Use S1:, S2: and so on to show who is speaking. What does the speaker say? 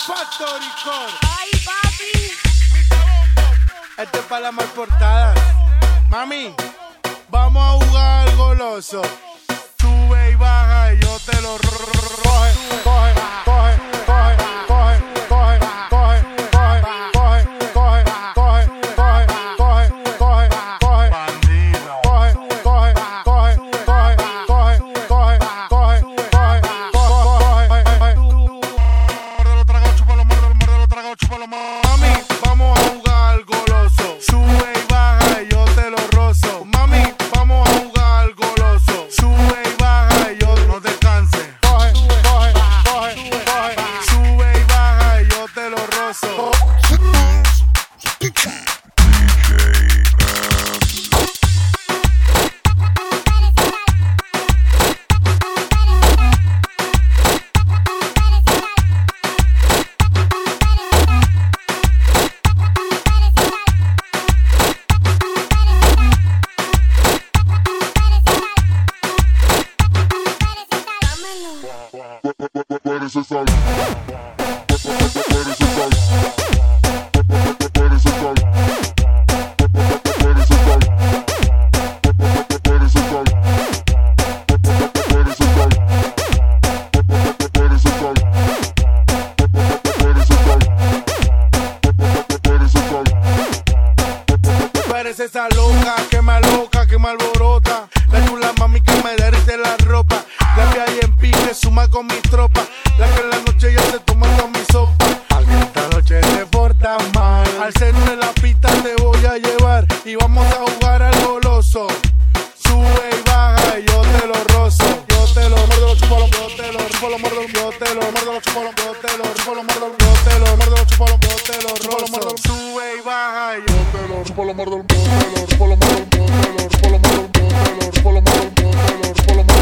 S1: Factory Core.
S2: Ay, papi.
S1: Este es para las mal portadas. Mami, vamos a jugar al goloso. Sube y baja y yo te lo coge, coge, coge, coge, coge, coge, coge, coge, coge, coge, coge, coge, coge, coge, coge, bandido. Coge, coge, coge, coge, coge, coge, coge, coge, coge. Muerde los tragos, chúpalo, muerde los tragos, chúpalo. Mami, vamos a jugar al goloso. Sube y baja y yo te lo rozo. Mami, vamos a jugar al goloso. Sube y baja y yo no te canses. Coge, coge, coge, coge. Sube y baja y yo te lo rozo.
S3: Parece sal. Parece sal. Parece sal. Parece sal. Parece sal. Parece sal. Parece sal. Parece sal. Parece sal.
S1: Parece esa loca que me aloca, que me alborota. La chula mami que me derrite la ropa. La que hay en pique suma con mis tropas. La que en la noche ya se toma con mi sopa. Alguien esta noche te porta mal. Al centro de la pista te voy a llevar y vamos a jugar al goloso. Sube y baja y yo te lo rozo. Yo te lo muerdo los chupalos, yo te lo chupo los muerdo, yo te lo muerdo los chupalos, yo te lo chupo los muerdo, yo te lo muerdo los chupalos, yo te lo rozo. Sube y baja y yo te lo
S3: Chupa la muerde, yo te lo chupa la muerde, yo te lo chupa la muerde, yo te lo chupa la muerde, yo te lo chupa la muerde, yo te lo chupa la muerde.